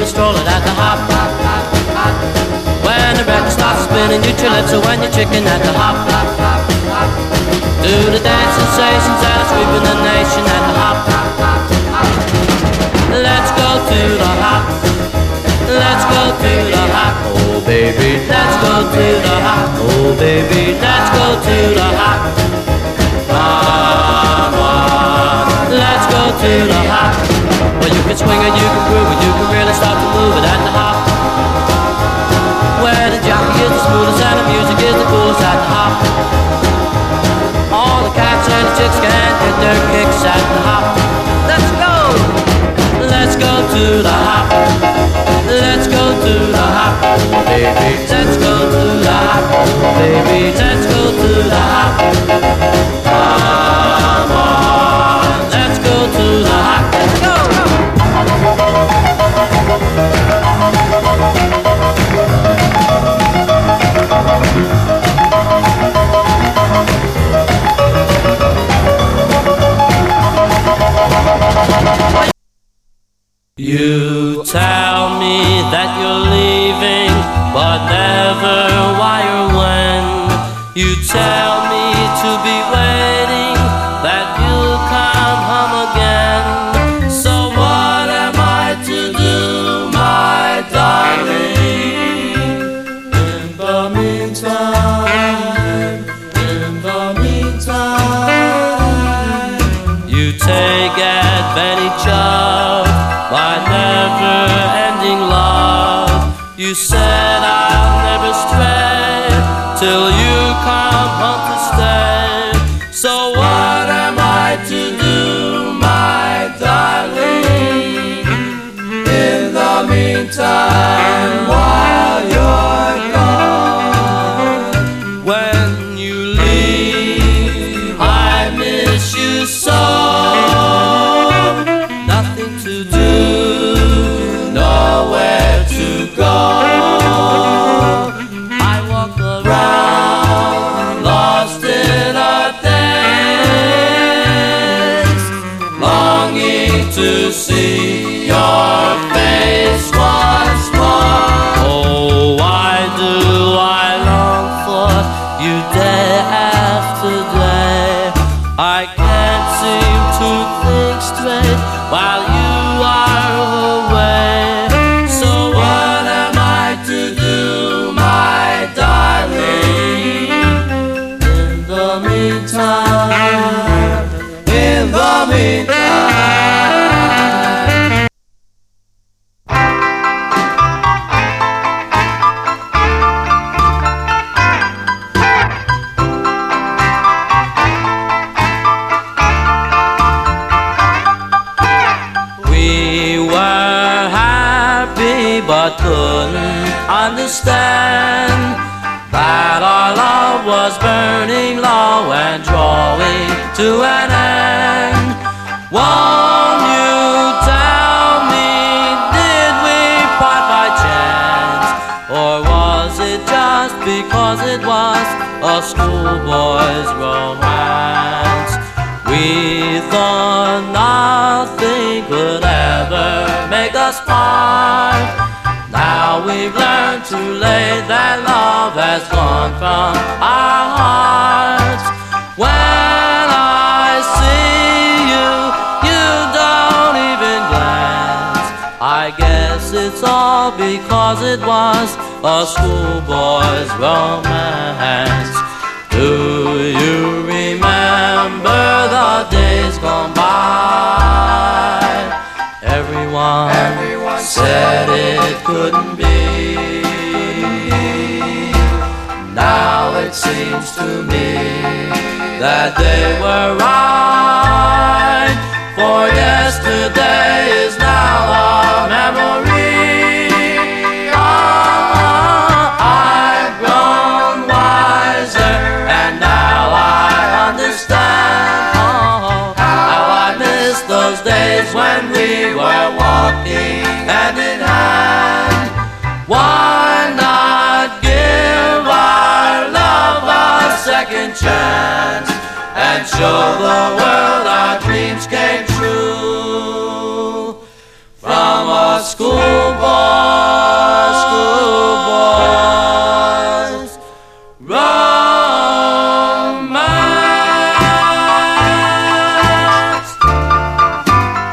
baby, strolling at the hop. When the record starts spinning, you lips are when you're chicken at the hop. Do the dance sensations that are sweeping the nation at the hop. Let's go to the hop. Let's go to the hop. Oh baby, let's go to the hop. Oh baby, let's go to the hop. Come on, let's go to the hop. Well, you can swing it, you can groove it, you can really start to move it at the hop. Where the jockey is the smoothest and the music is the coolest at the hop. All the cats and the chicks can get their kicks at the hop. Let's go! Let's go to the hop. Let's go to the hop, baby. Let's go to the hop, baby. Let's go to the hop. Come on, let's go to the hop. Let's go! You tell me that you're leaving, but never why or when. You tell me to be waiting, that you'll come home again. So what am I to do, my darling? In the meantime, you take advantage of my never-ending love. You said I'll never stray till you come home to stay. So what am I to do, my darling? In the meantime, while you're gone, when you leave, I miss you so. Nothing to do, nowhere to go. I walk around, lost in a daze, longing to see your face once more. Oh, why do I long for you day after day? I can't seem to think straight while you are away. So what am I to do, my darling? In the meantime, in the meantime. But couldn't understand that our love was burning low and drawing to an end. Won't you tell me, did we part by chance? Or was it just because it was a schoolboy's romance? We thought nothing could ever make us part. Now we've learned too late that love has gone from our hearts. When I see you, you don't even glance. I guess it's all because it was a schoolboy's romance. Do you remember the days gone by? Everyone said it couldn't be. Now it seems to me that they were right, for yesterday is now a memory. I've grown wiser and now I understand how I miss those days when we were walking hand in hand. Why not give our love a second chance and show the world